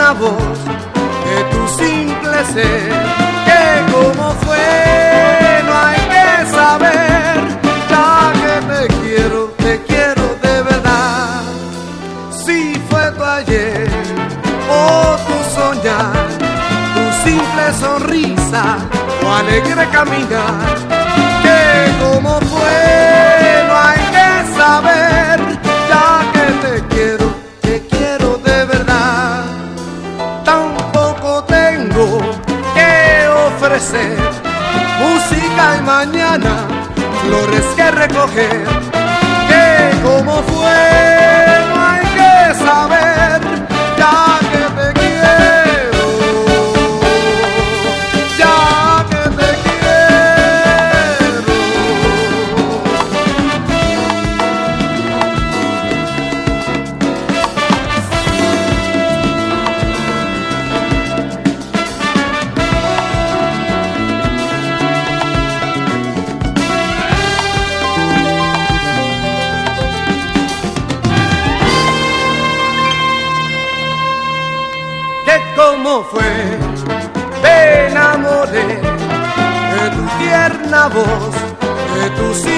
tierna voz, de tu simple ser, que como fue no hay que saber, ya que te quiero de verdad. Si fue tu ayer o tu soñar, tu simple sonrisa, tu alegre caminar, que como fue no hay que saber, ya que te quiero de verdad. Tampoco tengo que ofrecer música y mañana flores que recoger, que como fue no hay que saber, ya que te quiero, ya que te quiero. ¿Cómo fue? Me enamoré de tu tierna voz, de tu